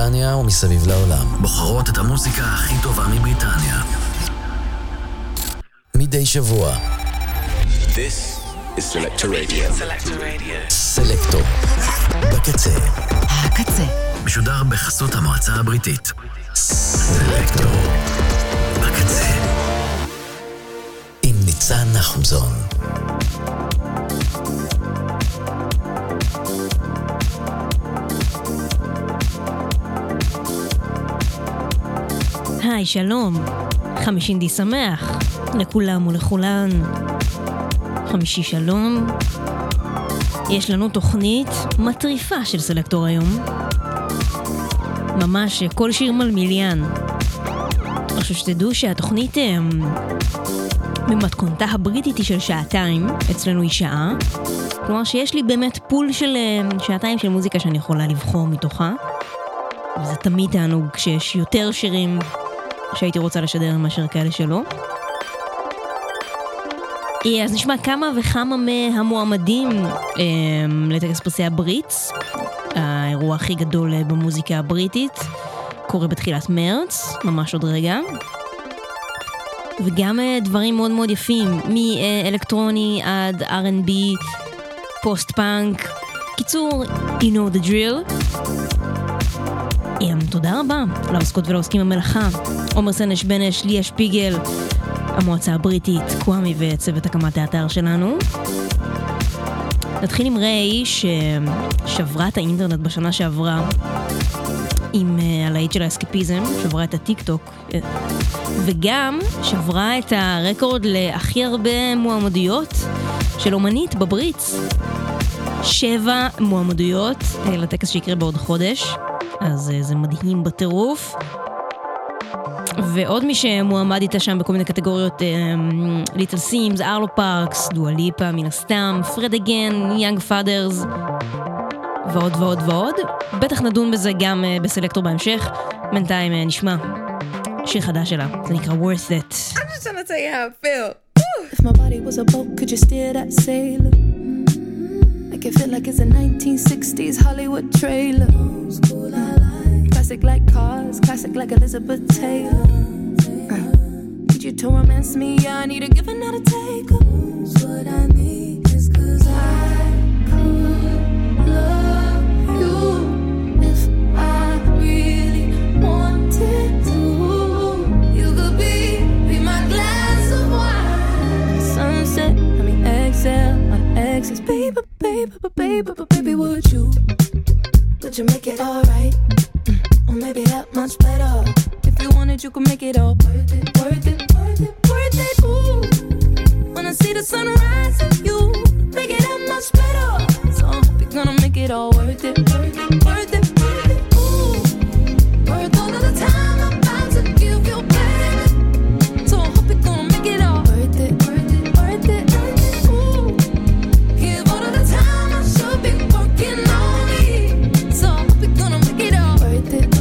בריטניה ומסביב לעולם. בוחרות את המוזיקה הכי טובה מבריטניה. מדי שבוע. This is Selector Radio. סלקטור. בקצה. הקצה. משודר בחסות המועצה הבריטית. סלקטור. בקצה. עם ניצן נחומזון. היי, שלום. חמישינדי שמח. לכולם ולכולן. חמישי שלום. יש לנו תוכנית מטריפה של סלקטור היום. ממש כל שיר מלמיליאן. עכשיו שתדעו שהתוכנית במתכונתה הבריטית היא של שעתיים, אצלנו היא שעה. כלומר שיש לי באמת פול של שעתיים של מוזיקה שאני יכולה לבחור מתוכה. וזה תמיד תענוג כשיש יותר שירים שהייתי רוצה לשדר מאשר כאלה שלא. אז נשמע כמה וכמה מהמועמדים לטקס פרסי הבריטס. האירוע הכי גדול במוזיקה הבריטית קורה בתחילת מרץ, ממש עוד רגע. וגם דברים מאוד מאוד יפים, מאלקטרוני עד R&B, פוסט-פאנק. קיצור, you know the drill. תודה רבה לעוסקות ולעוסקים במלאכה. עומר סנש בנש, ליה שפיגל, המועצה הבריטית, קוואמי וצוות הקמת האתר שלנו. נתחיל עם ריי ששברה את האינטרנט בשנה שעברה עם הלהיט של האסקפיזם, שברה את הטיק טוק וגם שברה את הרקורד להכי הרבה מועמדויות של אומנית בבריטס. 7 מועמדויות לטקס שיקרה בעוד חודש, אז זה מדהים בטירוף. ועוד מי שמועמד איתה שם בכל מיני קטגוריות, ליטל סימס, ארלו פארקס, דואה ליפה מן הסתם, פרד אגן, יאנג פאדרס ועוד ועוד ועוד. בטח נדון בזה גם בסלקטור בהמשך. בינתיים נשמע שיר חדש שלה, זה נקרא Worth It. I'm just trying to tell you how I feel. If my body was a boat, could you steer that sailor? Make it feel like it's a 1960s Hollywood trailer. Classic like cars, classic like Elizabeth Taylor. Need you to romance me, I need a give and not a take. What I need is 'cause I could love you if I really wanted to. You could be my glass of wine. Sunset, I mean exhale, my exes. Baby, baby, baby, baby, would you make it alright? Or maybe that much better. If you wanted, you could make it all worth it, worth it, worth it, worth it. Ooh, when I see the sunrise of you, make it that much better. So I hope you're gonna make it all worth it, worth it, worth it, worth it. Ooh, worth all of the time I'm about to give you, baby. So I hope you're gonna make it all worth it, worth it, worth it, worth it. Ooh, give all of the time I should be working on me. So I hope you're gonna make it all worth it.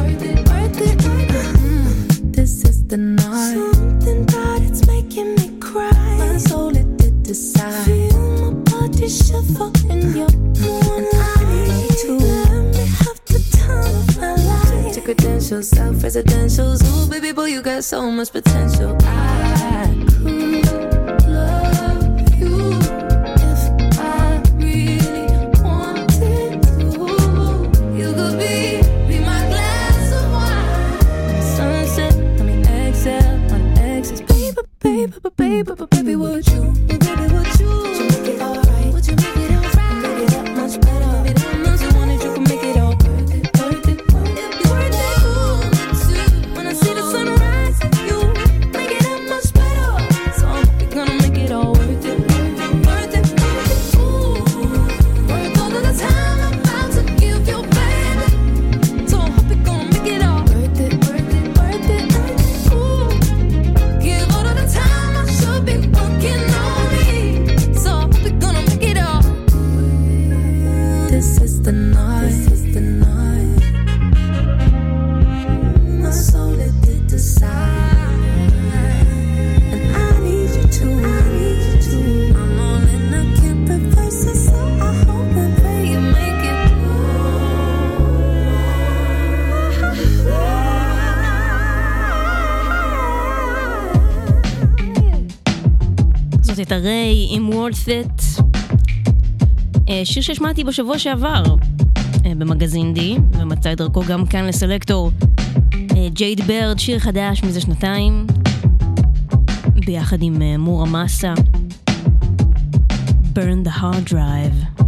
This is the night. Something about it's making me cry. My soul it did decide. Feel my body shiver in your warm light. To let me have the time of my life. Check your credentials, self-residentials. Ooh, baby boy, you got so much potential. I could love you if I really wanted to. You could be my glass of wine. Sunset, I mean exhale, my exes. Baby, baby, baby, baby, would you? Baby, would you make it alright? Would you make it alright? Make it that much better. Maybe that much you wanted, you can make it all worth it, worth it, worth it, worth it. Ooh, when I see the sunrise, you make it that much better. So I hope you're gonna make it all worth it, worth it, worth it, worth it. Ooh, worth all of the time I'm about to give you, baby. So I hope you're gonna make it all worth it, worth it, worth it, worth it. Ooh, give all of the time I should be working on me. So I hope you're gonna make it all. This is the night. This is the night. My soul it did decide, and I need you to. I need you to. I'm all in, I can't reverse it, so I hope and pray you make it. את הריי עם Worth It, שיר ששמעתי בשבוע שעבר במגזין די, ומצא את דרכו גם כאן לסלקטור. ג'ייד ברד, שיר חדש מזה שנתיים, ביחד עם מורה מסה, Burn the Hard Drive.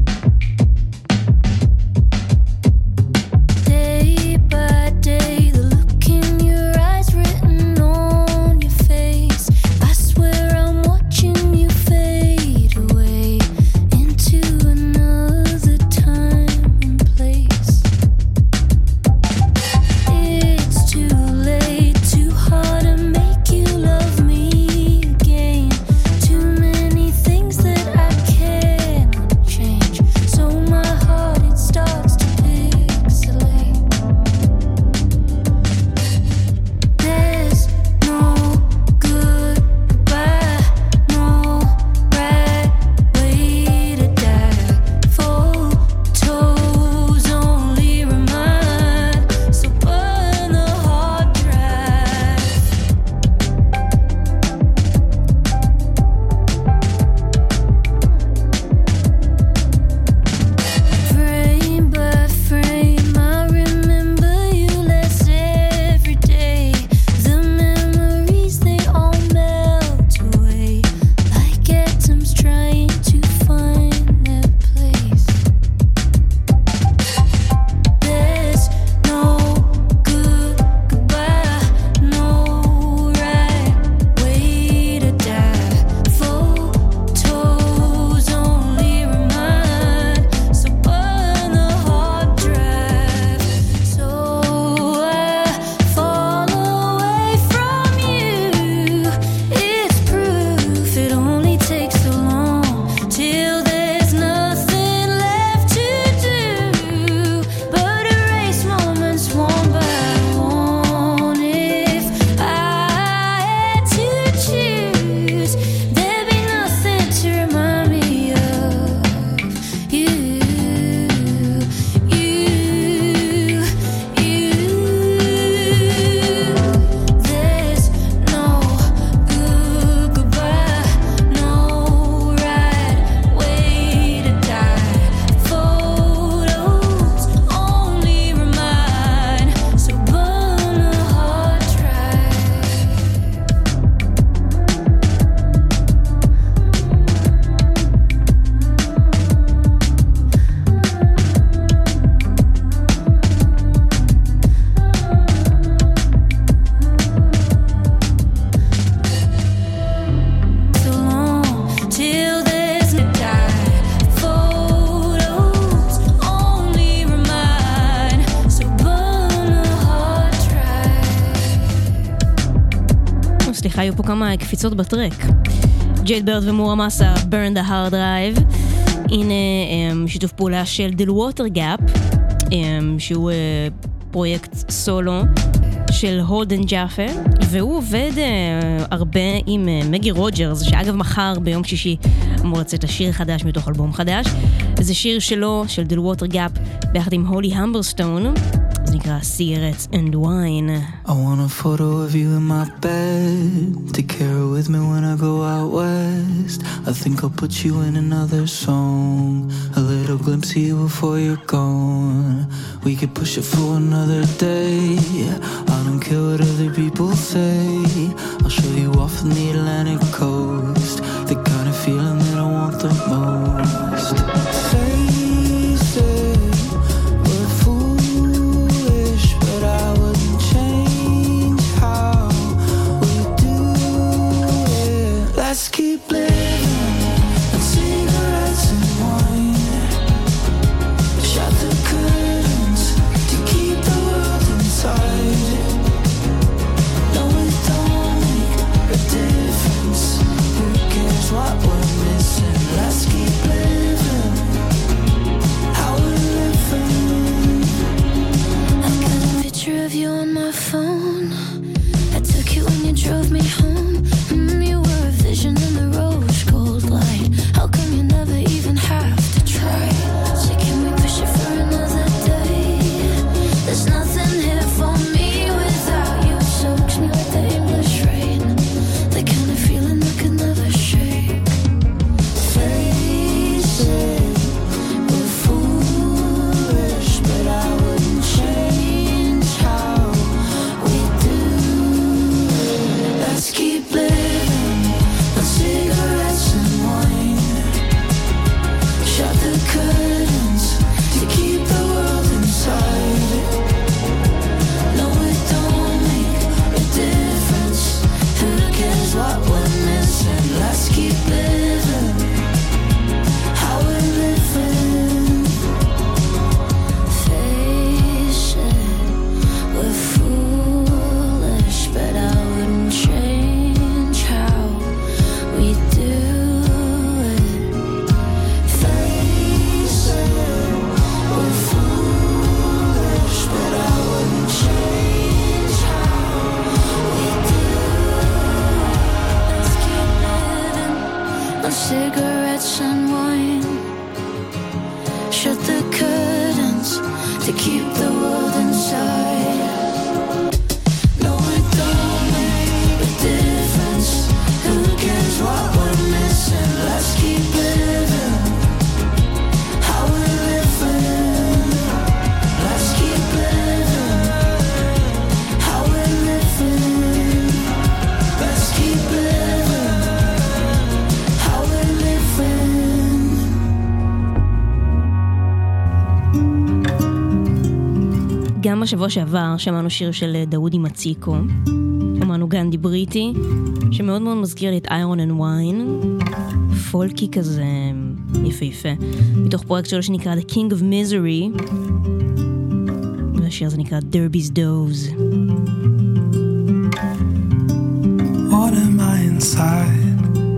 היו פה כמה קפיצות בטרק. ג'ייד ברד ומורה מסה, Burn the Hard Drive. הנה שיתוף פעולה של דיל ווטרגאפ, שהוא פרויקט סולו של הולדן ג'אפה, והוא עובד הרבה עם מגי רוג'רס, שאגב מחר ביום שישי אמור לצאת לשיר חדש מתוך אלבום חדש. זה שיר שלו, של דיל ווטרגאפ, ביחד עם הולי המברסטון. זה נקרא Cigarettes and Wine. I want a photo of you in my bed to carry with me when I go out west. I think I'll put you in another song, a little glimpse of you before you're gone. We could push it for another day. I don't care what other people say. I'll show you off on the Atlantic coast, the kind of feeling that I want the most. Face it, let's keep living on cigarettes and wine. Shut the curtains to keep the world inside. No, it don't make a difference. Who cares what we're missing? Let's keep living. to keep the world inside. No, it don't make a difference. Who cares what we're missing? Let's keep living how we're living. Let's keep living how we're living. Let's keep living how we're living. גם בשבוע שעבר שמענו שיר של דאודי מציקו, שמענו גנדי בריטי, שמאוד מאוד מזכיר לי את איירון אנד ויין, פולקי כזה יפהפה, מתוך פרויקט שלו שנקרא The King of Misery, והשיר הזה נקרא Derby's Doze. What am I inside?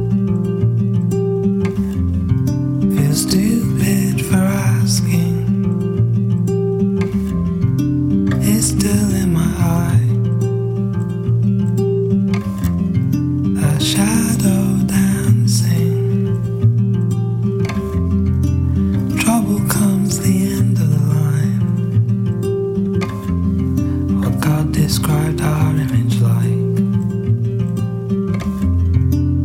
Feel stupid for asking. It's still in my eye. A shadow dancing. Trouble comes the end of the line. What God described our image like.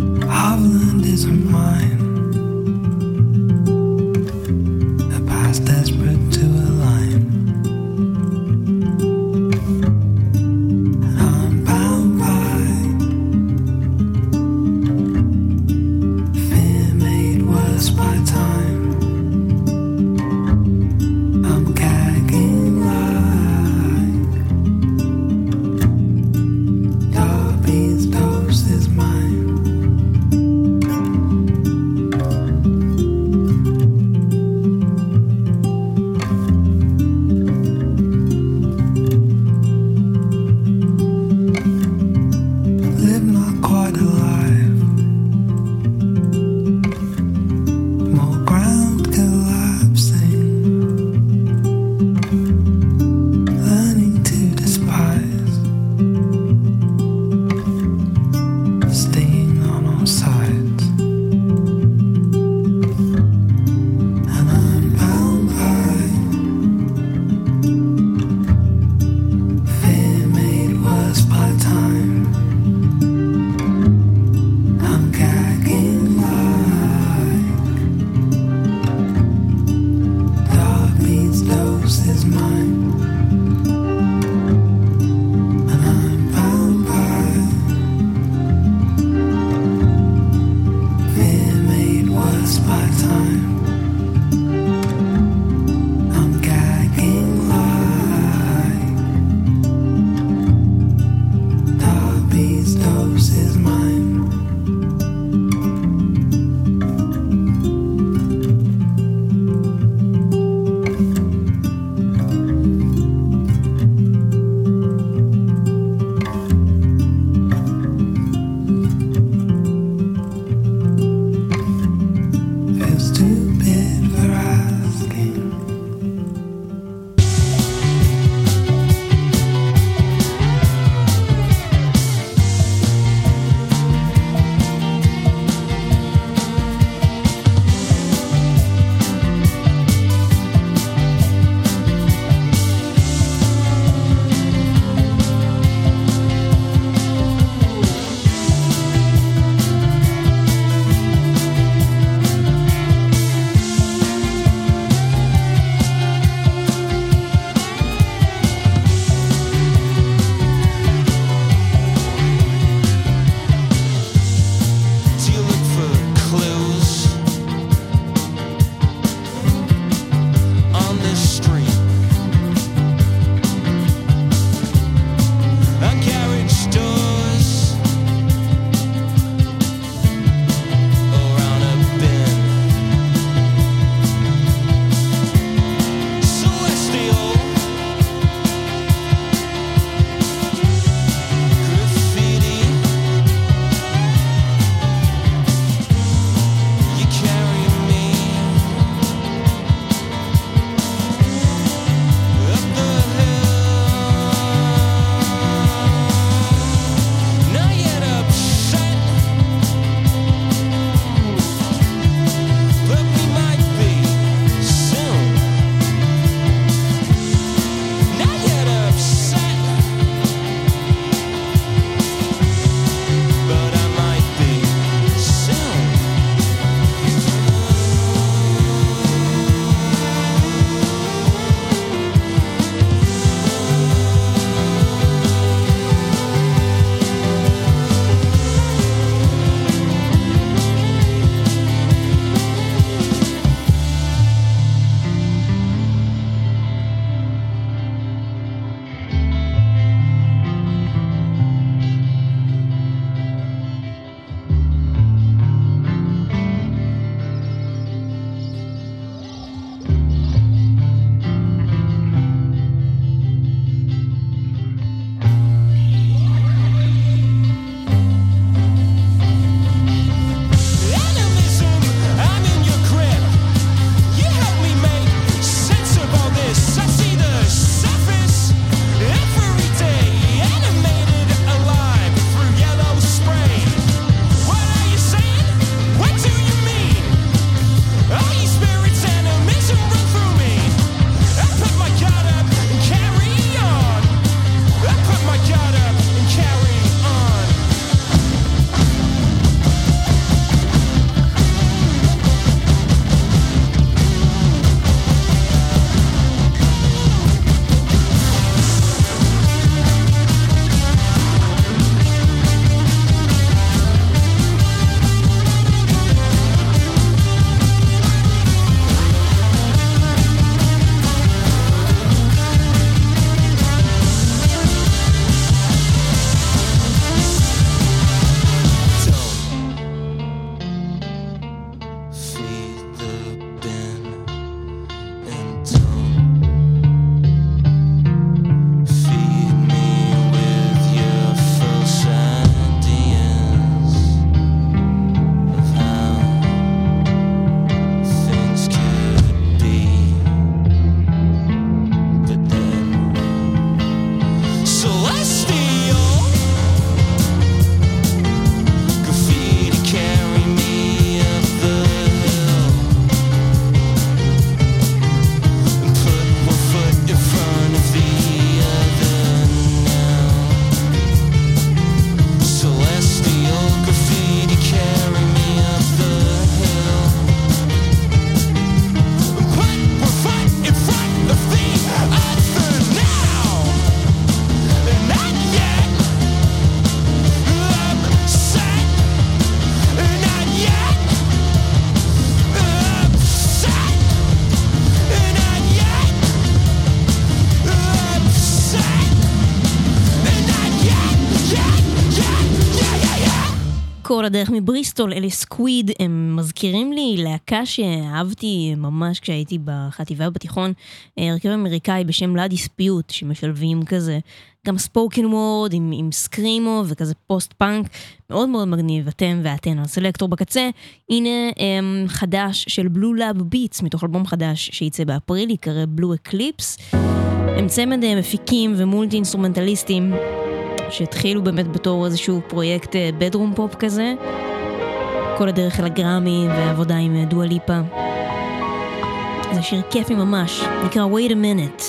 כל הדרך מבריסטול, אלה סקוויד, הם מזכירים לי להקה שאהבתי ממש כשהייתי בחטיבה בתיכון, הרכב אמריקאי בשם לה דיספיוט, שמשלבים כזה גם ספוקן וורד עם סקרימו וכזה פוסט פאנק, מאוד מאוד מגניב, אתם ואתן, הסלקטור בקצה. הנה חדש של בלו לאב ביטס, מתוך אלבום חדש שייצא באפריל, יקרא בלו אקליפס. הם צמד מפיקים ומולטי אינסטרומנטליסטים, שהתחילו באמת בתור איזשהו פרויקט בדרום פופ כזה, כל הדרך אל הגרמי ועבודה עם דואה ליפה. זה שיר כיפי ממש, נקרא Wait a Minute.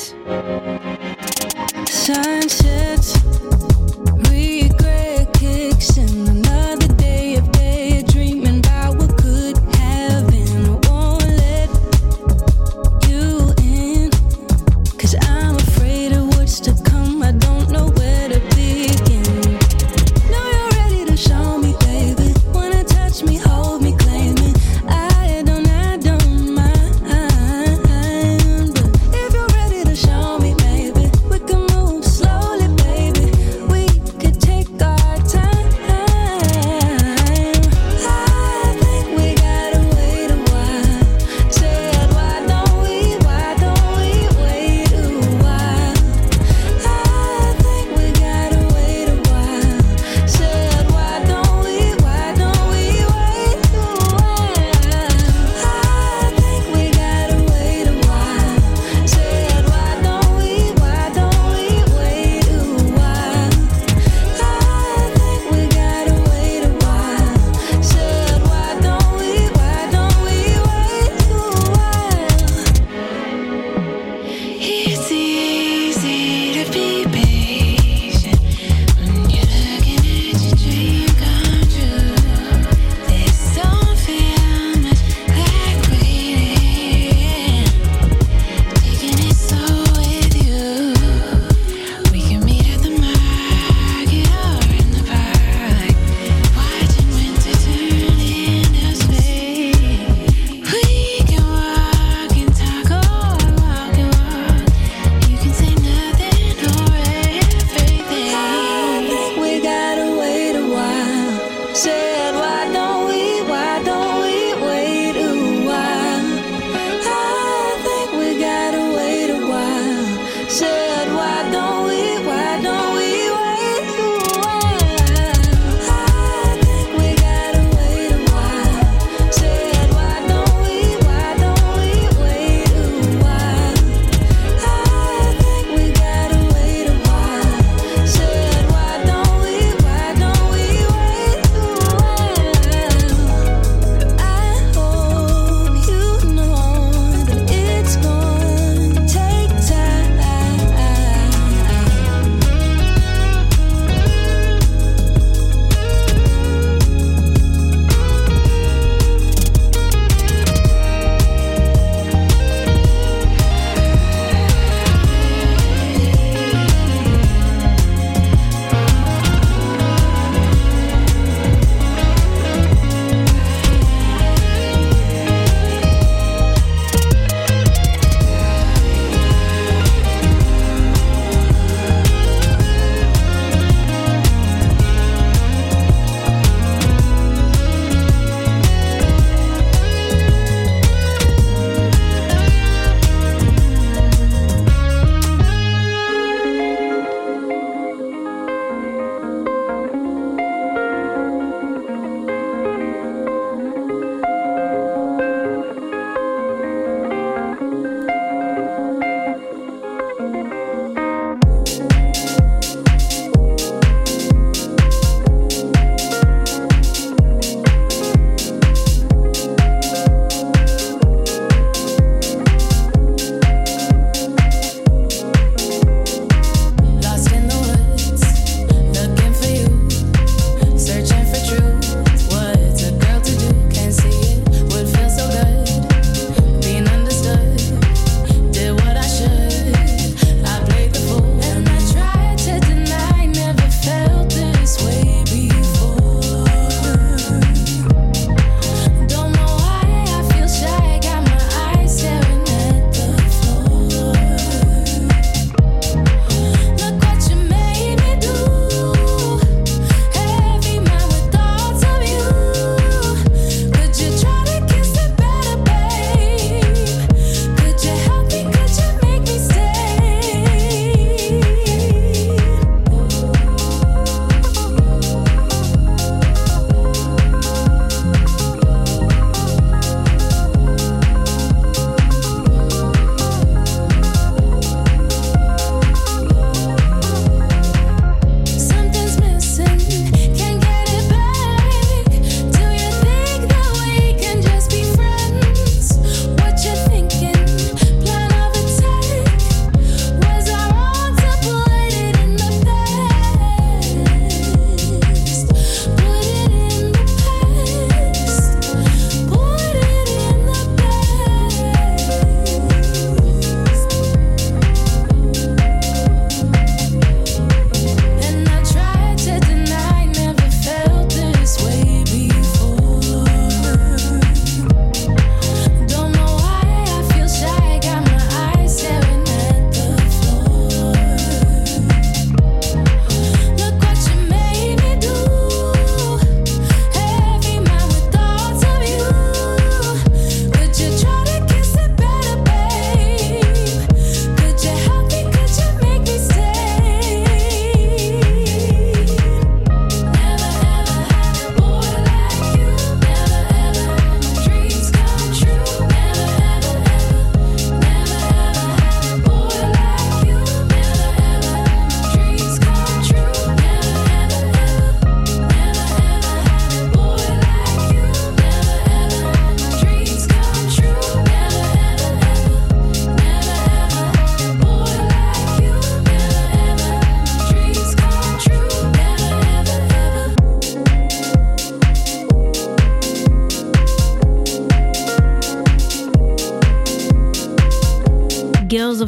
Sunsets, regret kicks in another day of daydreaming about what could have been. I won't let you in, 'cause I'm afraid of what's to come. I don't know where to begin. Know you're ready to show me, baby. Wanna touch me, hold me, claim me. I don't mind. But if you're ready to show me, baby, we can move slowly, baby. We could take our time.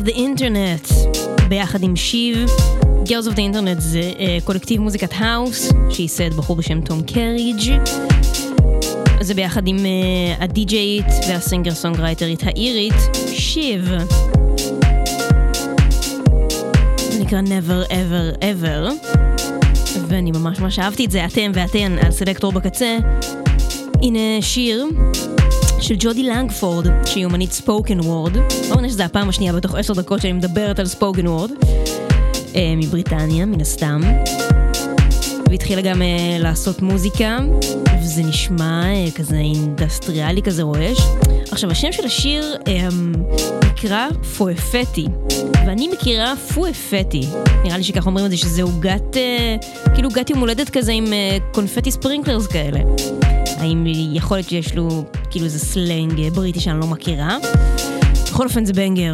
of the Internet, ביחד עם שיב. Girls of the Internet זה קולקטיב מוזיקת האוס, שייסד בחור בשם תום קריג'. זה ביחד עם הדי-ג'יית והסינגר סונגרייטרית האירית, שיב. זה נקרא Never Ever Ever. ואני ממש אהבתי את זה, אתם ואתן על סלקטור בקצה. הנה שיר של ג'ודי לנגפורד, שהיא אומנית ספוקן וורד. לא מנה שזה הפעם השנייה בתוך 10 דקות שאני מדברת על ספוקן וורד. מבריטניה, מן הסתם. והתחילה גם לעשות מוזיקה, וזה נשמע כזה אינדסטריאלי, כזה רועש. עכשיו, השם של השיר נקרא פואפטי, ואני מכירה פואפטי. נראה לי שכך אומרים את זה, שזה עוגת, כאילו עוגת יום הולדת כזה עם קונפטי ספרינקלרס כאלה. האם יכול להיות שיש לו כאילו איזה סלנג בריטי שאני לא מכירה? בכל אופן זה בנגר.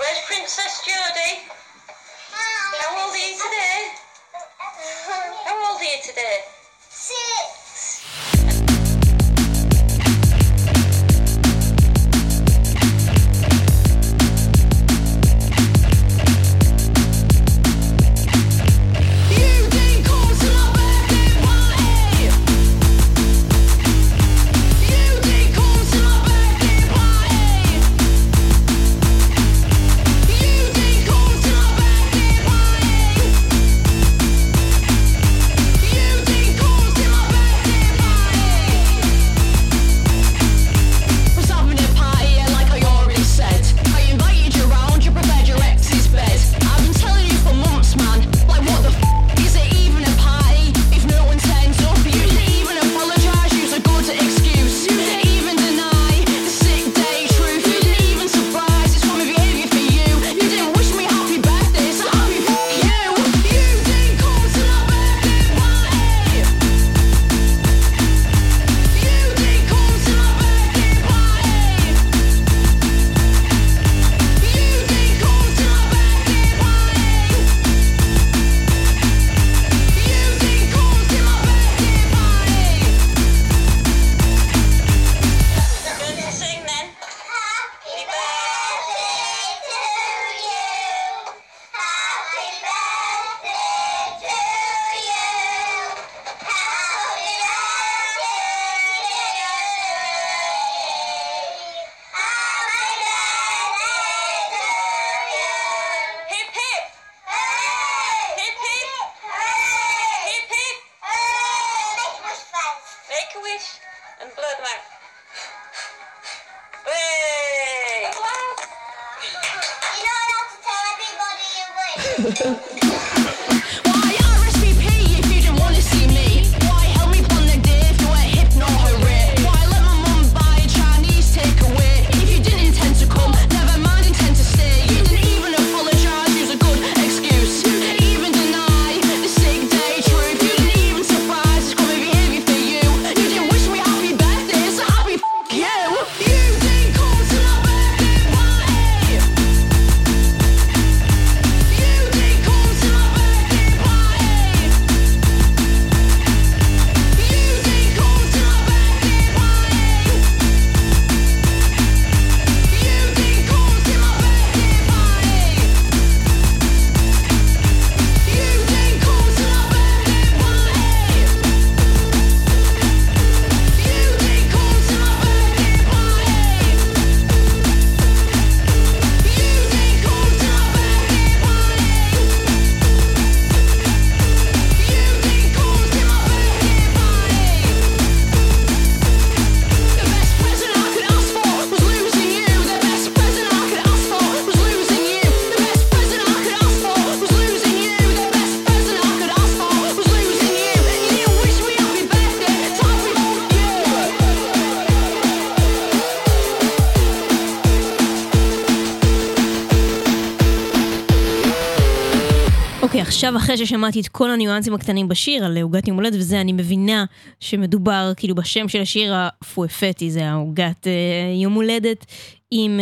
עכשיו אחרי ששמעתי את כל הניואנסים הקטנים בשיר על עוגת יום הולדת וזה, אני מבינה שמדובר כאילו בשם של השיר הפואפטי, זה העוגת יום הולדת עם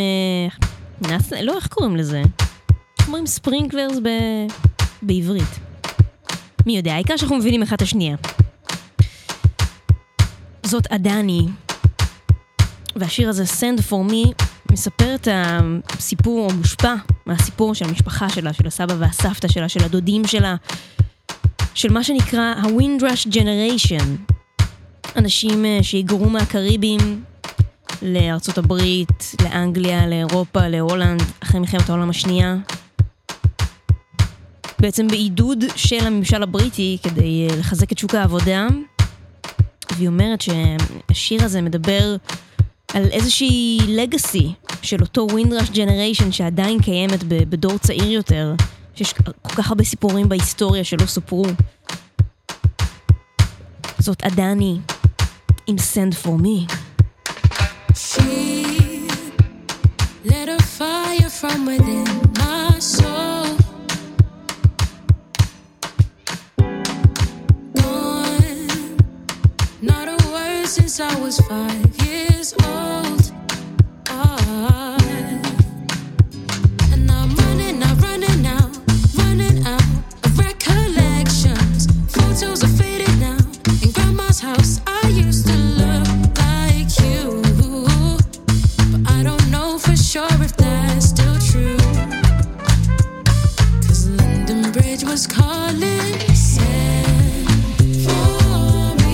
לא, איך קוראים לזה? אומרים ספרינקלרס בעברית. מי יודע, העיקר שאנחנו מבינים אחד השנייה. זאת עדני, והשיר הזה Send For Me מספר את הסיפור, או מושפע מהסיפור של המשפחה שלה, של הסבא והסבתא שלה, של הדודים שלה, של מה שנקרא ה-Windrush Generation. אנשים שהיגרו מהקריבים לארצות הברית, לאנגליה, לאירופה, להולנד, אחרי מלחמת העולם השנייה. בעצם בעידוד של הממשל הבריטי כדי לחזק את שוק העבודה. והיא אומרת שהשיר הזה מדבר על איזושהי לגאסי של אותו Windrush Generation שעדיין קיימת בדור צעיר יותר, שיש כל כך הרבה סיפורים בהיסטוריה שלא סופרו. זאת עדני עם Send For Me. She lit a fire from within my soul. Gone, not a word since I was 5 years old. And I'm running out of recollections. Photos are faded now. In grandma's house, I used to look like you. But I don't know for sure if that's still true. 'Cause London Bridge was calling, send for me.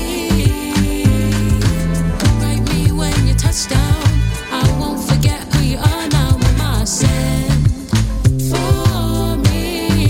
Write me when you touch down. I won't forget who you are now, mama. Send for me.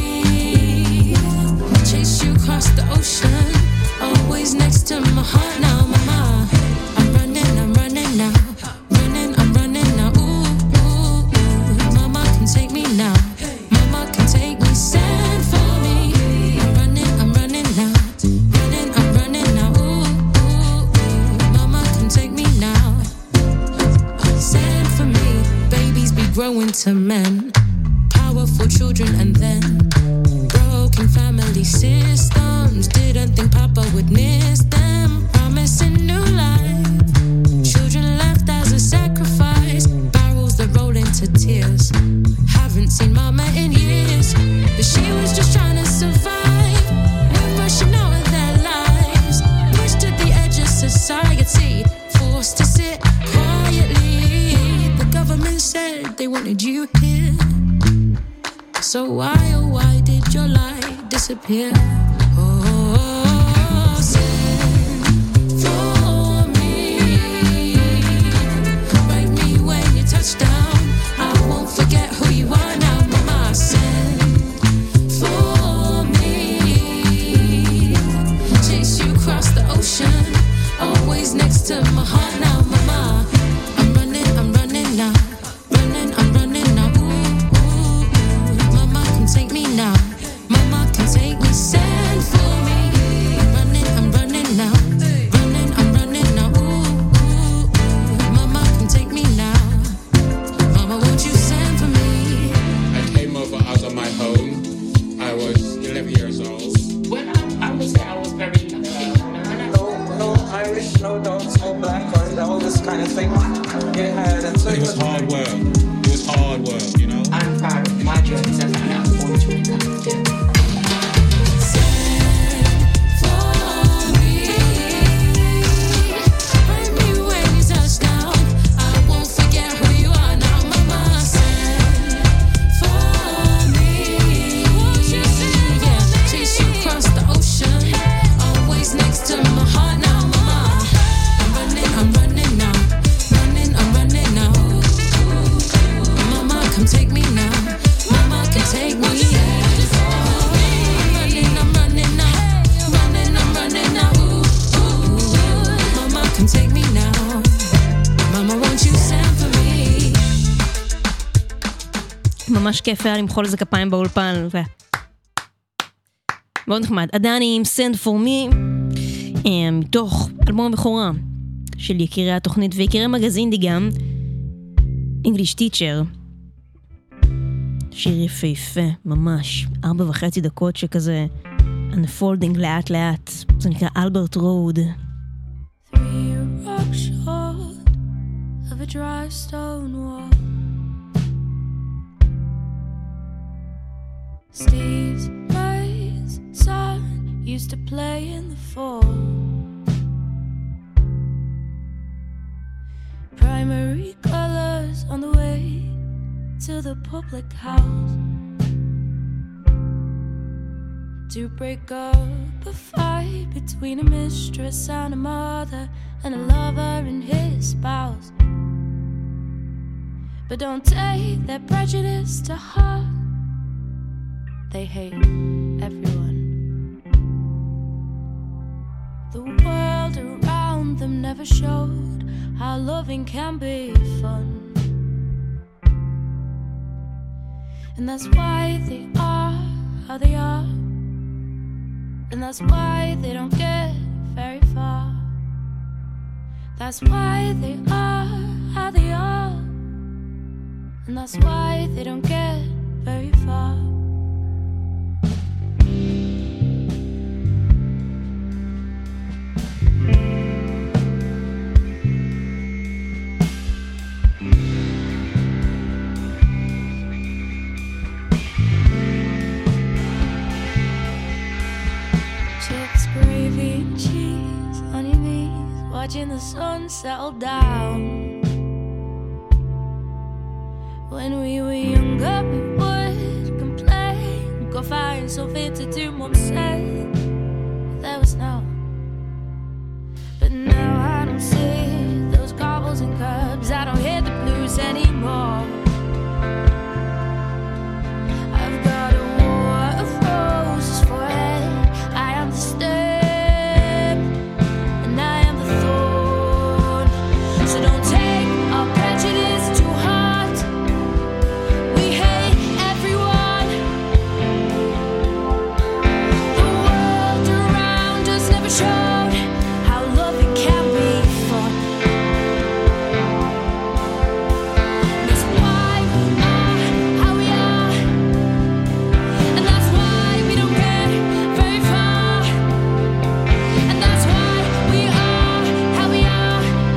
Chase you across the ocean. Always next to my heart now, mama. I'm running now. I'm running now. Ooh, ooh, ooh. Mama can take me now. Mama can take me. Send for me. I'm running now. I'm running now. Ooh, ooh, ooh. Mama can take me now. Send for me. Babies be growing to men. Powerful children and then broken family systems. Didn't think Papa would miss them. Promising new life. Children left as a sacrifice. Barrels that roll into tears. Haven't seen Mama in years, but she was just trying to survive. We're rushing out of their lives. Pushed to the edge of society. Forced to sit quietly. The government said they wanted you here. So why, oh why did your light disappear? Oh, send for me. Write me when you touch down. I won't forget who you are now, mama. Send for me. Chase you across the ocean. Always next to my heart now, mama. I'm running now. I'm running now. Ooh, ooh, ooh. Mama can take me now. Mama can take me. Send for me. I'm running now. I'm running now. Ooh, ooh, ooh. Mama can take me now. Mama, won't you send for me? I came over out of my home. I was 11 years old. Well, I would say I was very no Irish, no dogs, no black, or all this kind of thing. Yeah, that's so It was hard work. It was hard work, you know. I'm proud of my journey since I was born to it. Take me now, mama can take me. I'm running now. Ooh, mama can take me now. Mama, won't you send for me? ממש כיף היה למחול איזה כפיים באולפן. מאוד נחמד. עדני עם Send For Me, מתוך אלבום הבכורה של יקירי התוכנית ויקירי מגזינדי גם, English Teacher. שיר יפהפה, ממש 4.5 דקות שכזה unfolding לאט לאט. זה נקרא אלברט רוד. 3 rock short of a dry stone wall. Steve's place son used to play in the fall. Primary colors on the way to the public house to break up a fight between a mistress and a mother and a lover and his spouse. But don't take their prejudice to heart. They hate everyone. The world around them never showed how loving can be fun. And that's why they are how they are. And that's why they don't get very far. That's why they are how they are. And that's why they don't get very far. Watching the sun settle down. When we were younger, we would complain, go find something to do, Mom said. But there was no. But now I don't see those cobbles and curbs. I don't hear the blues anymore. I've got a war of roses forehead. I am the stem. So don't take our prejudice too hard. We hate everyone. The world around us never showed how loving can be fun. That's why we are how we are. And that's why we don't get very far. And that's why we are how we are.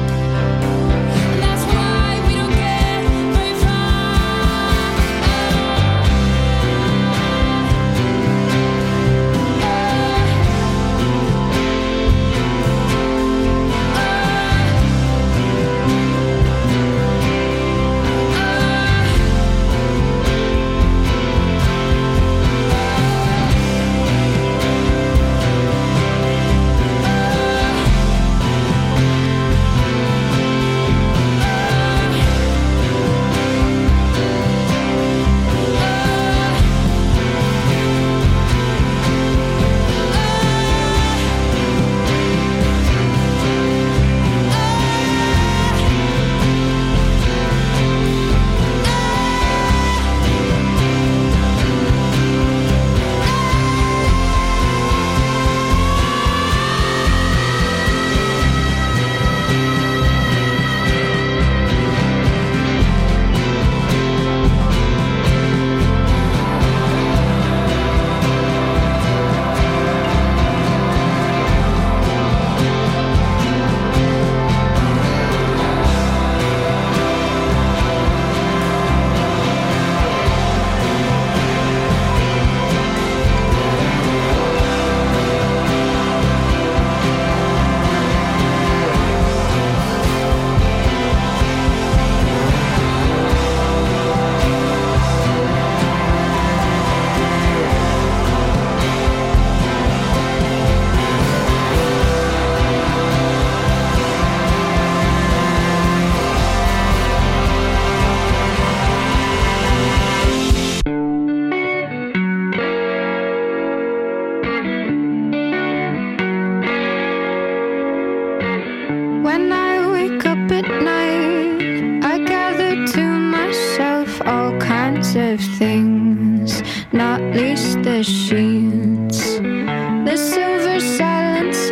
Of things, not least the sheets, the silver silence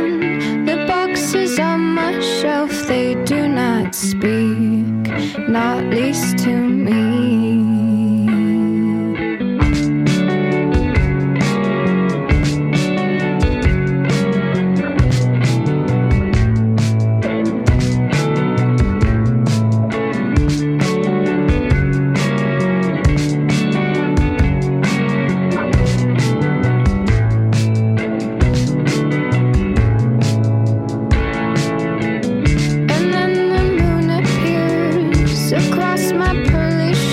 and the boxes on my shelf. They do not speak, not least to me. Across my pearly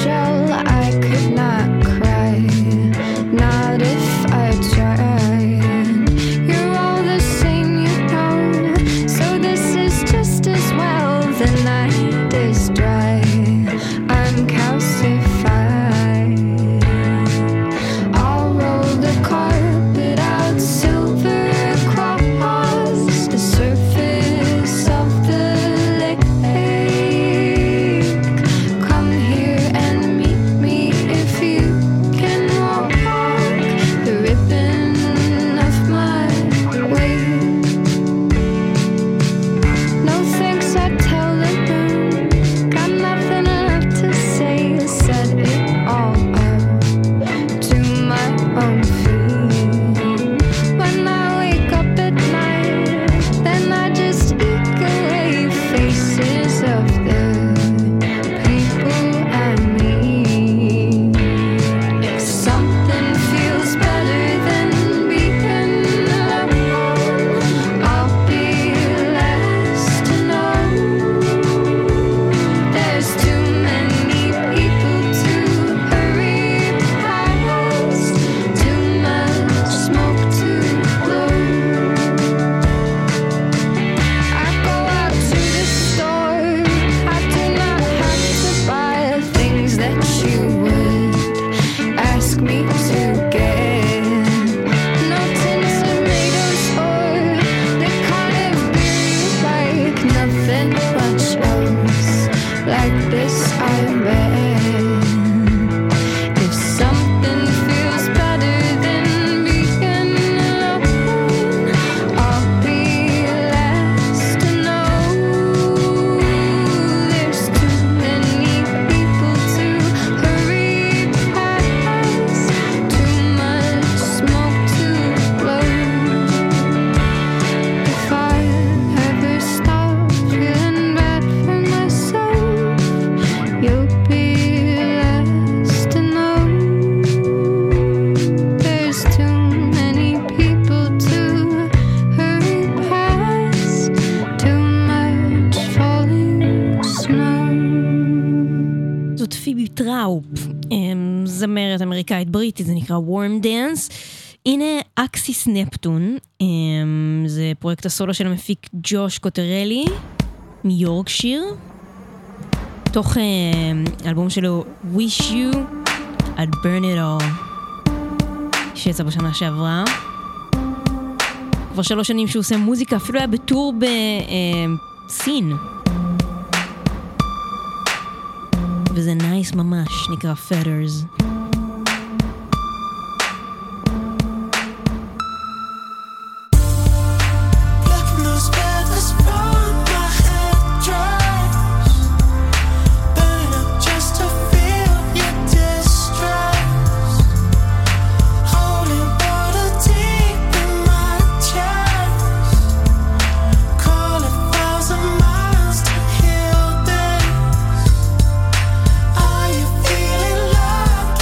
זמרת אמריקאית בריטית, זה נקרא Warm Dance. הנה אקסיס נפטון, זה פרויקט הסולו של המפיק ג'וש קוטרלי מיורקשיר, תוך אלבום שלו Wish You I'd Burn It All, שיצא בשנה שעברה. כבר 3 שנים שהוא עושה מוזיקה, אפילו היה בטור בסין, וזה נייס ממש, נקרא Feathers. Are you feeling love?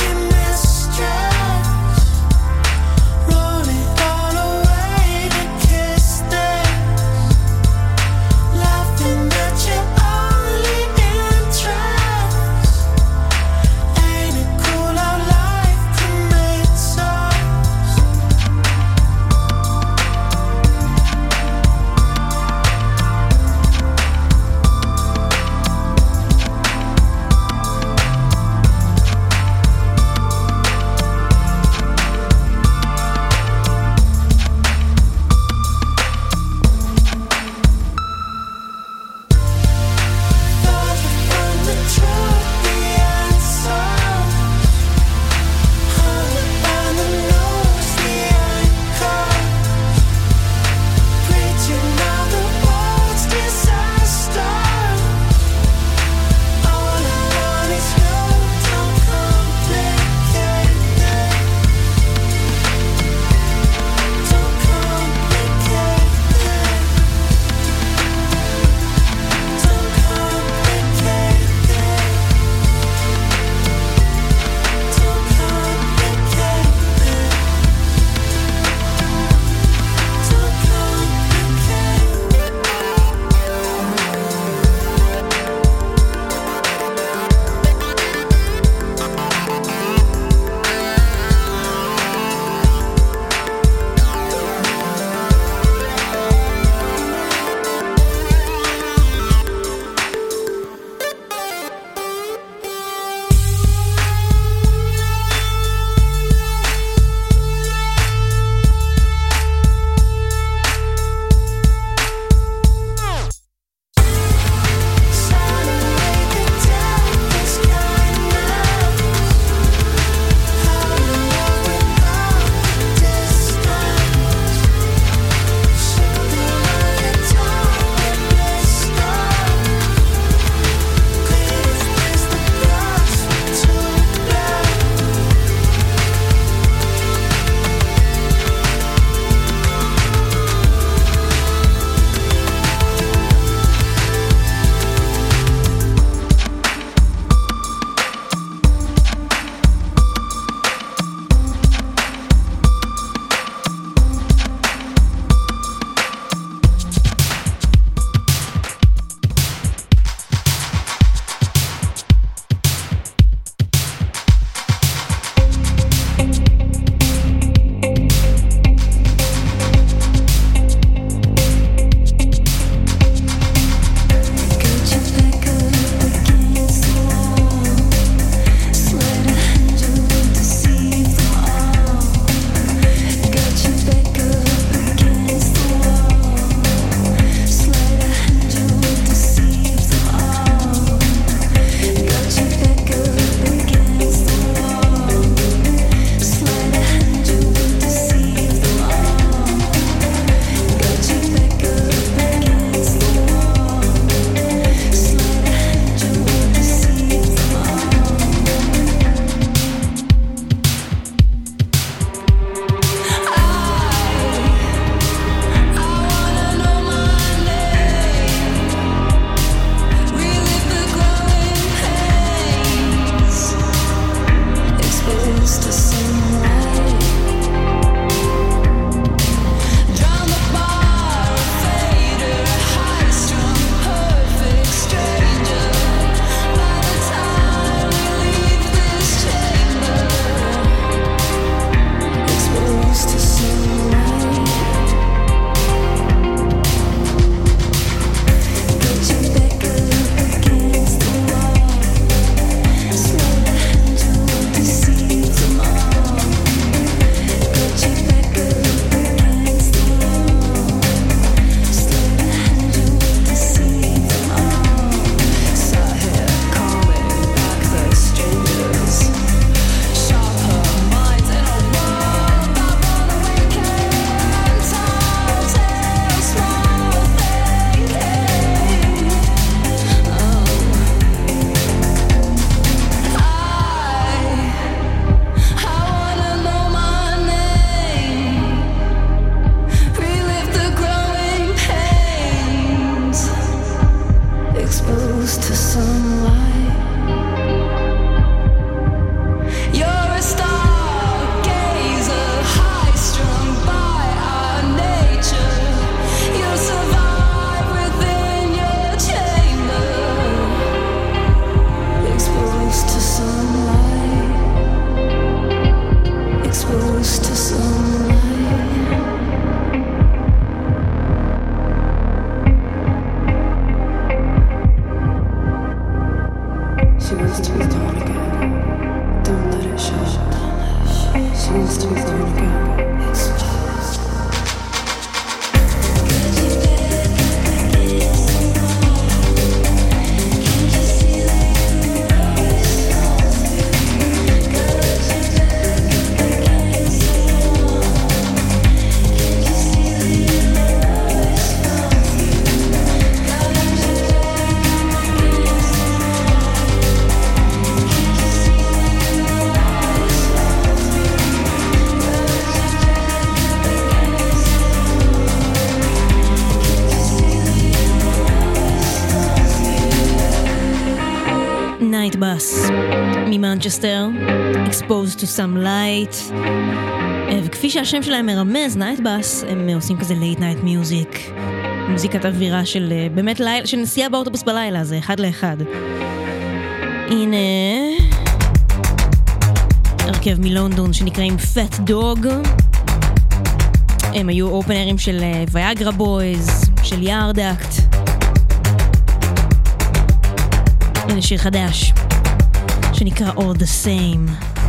she used to be going again. נייט בס ממנצ'סטר, Exposed to some light, וכפי שהשם שלהם מרמז, נייט בס, הם עושים כזה late night music, מוזיקת אווירה של באמת לילה, של נסיעה באוטובוס בלילה, זה אחד לאחד. הנה הרכב מלונדון שנקראים Fat Dog, הם היו אופנרים של ויאגרה בויז, של יארדקט. הנה שיר חדש שנקרא All the Same.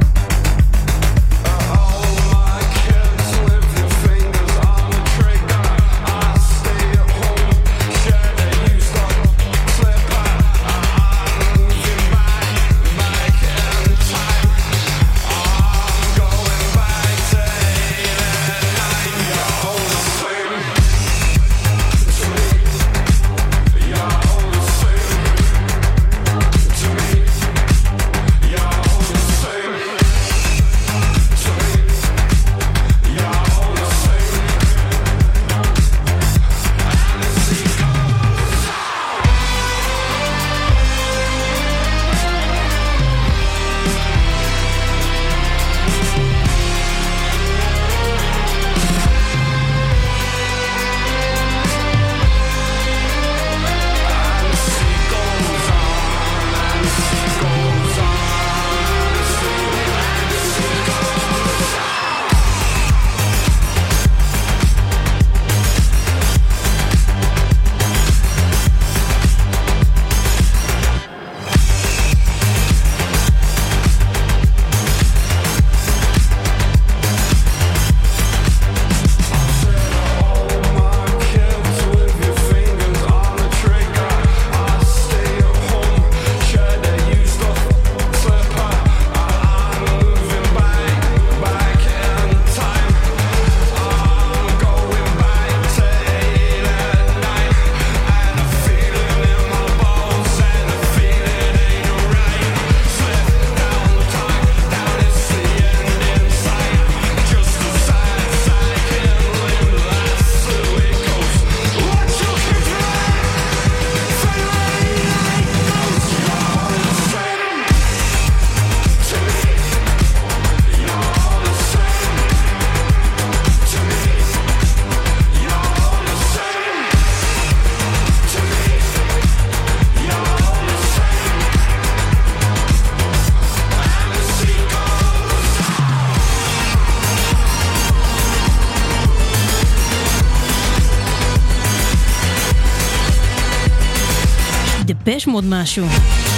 דפש מאוד משהו.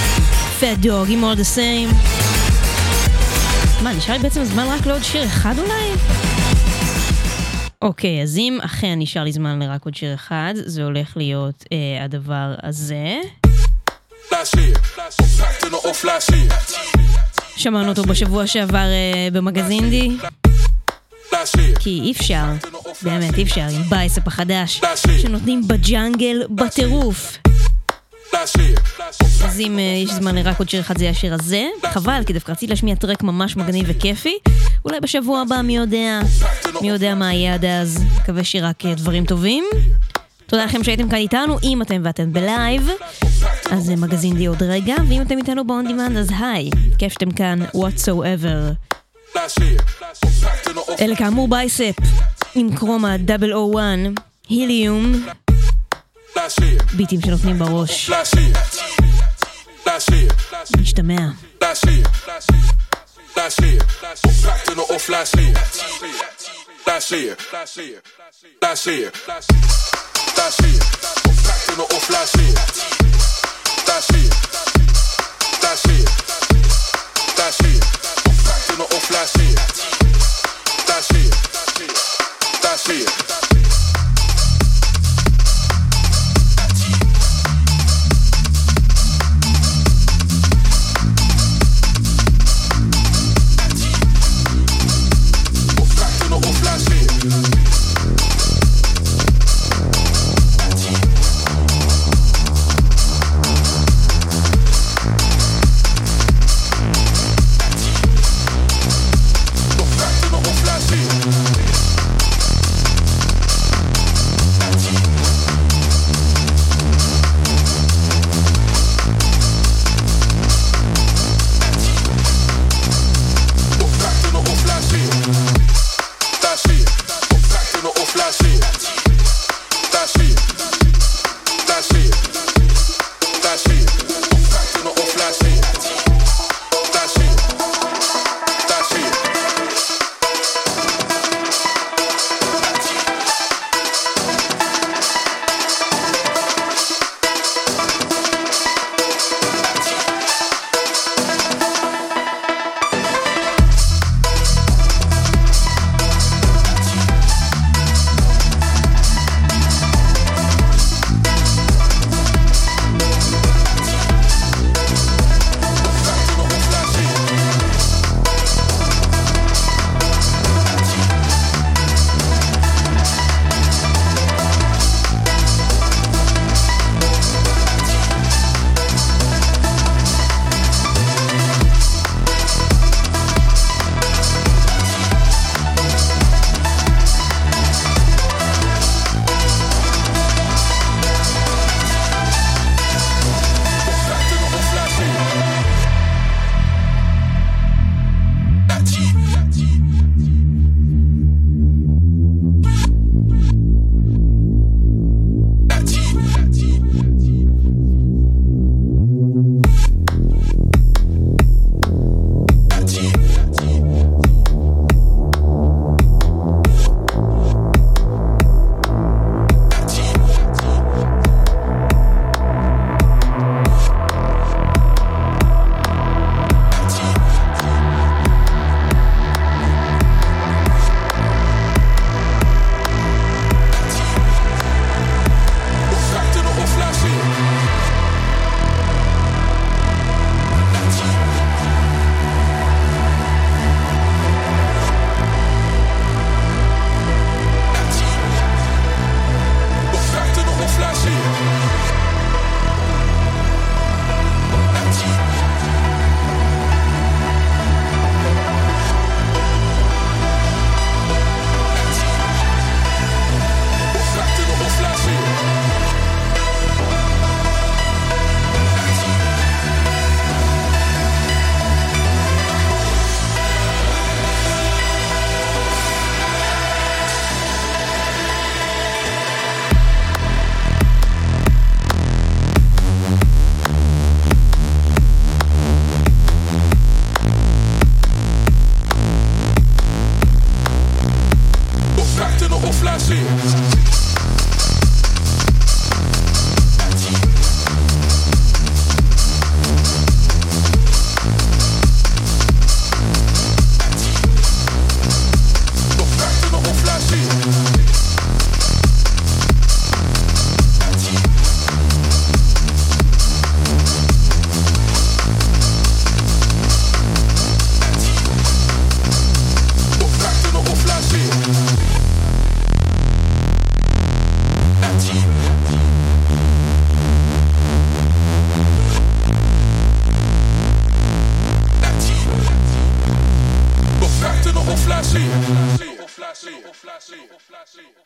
Fat Dog עם All the Same. מה, נשאר לי בעצם זמן רק לעוד שיר אחד אולי? אוקיי, אז אם אכן נשאר לי זמן לרק עוד שיר אחד, זה הולך להיות הדבר הזה. שמענו אותו בשבוע שעבר במגזין די. כי אי אפשר, באמת אי אפשר, עם בייסאפ החדש שנותנים בג'אנגל בטירוף. אז אם יש זמן לרק עוד שיר אחד, זה השיר הזה. חבל, כי דווקא רציתי להשמיע טרק ממש מגניב וכיפי. אולי בשבוע הבא, מי יודע מה יהיה עד אז. מקווה שרק דברים טובים. תודה לכם שהייתם כאן איתנו. אם אתם ואתם בלייב, אז מגזין די עוד רגע. ואם אתם איתנו ב-on demand, אז היי, כיף שאתם כאן, whatsoever. אלה כאמור בייסאפ עם קרומה 001 היליום, ביטים שנותנים בראש. משתמע. That's it. see it.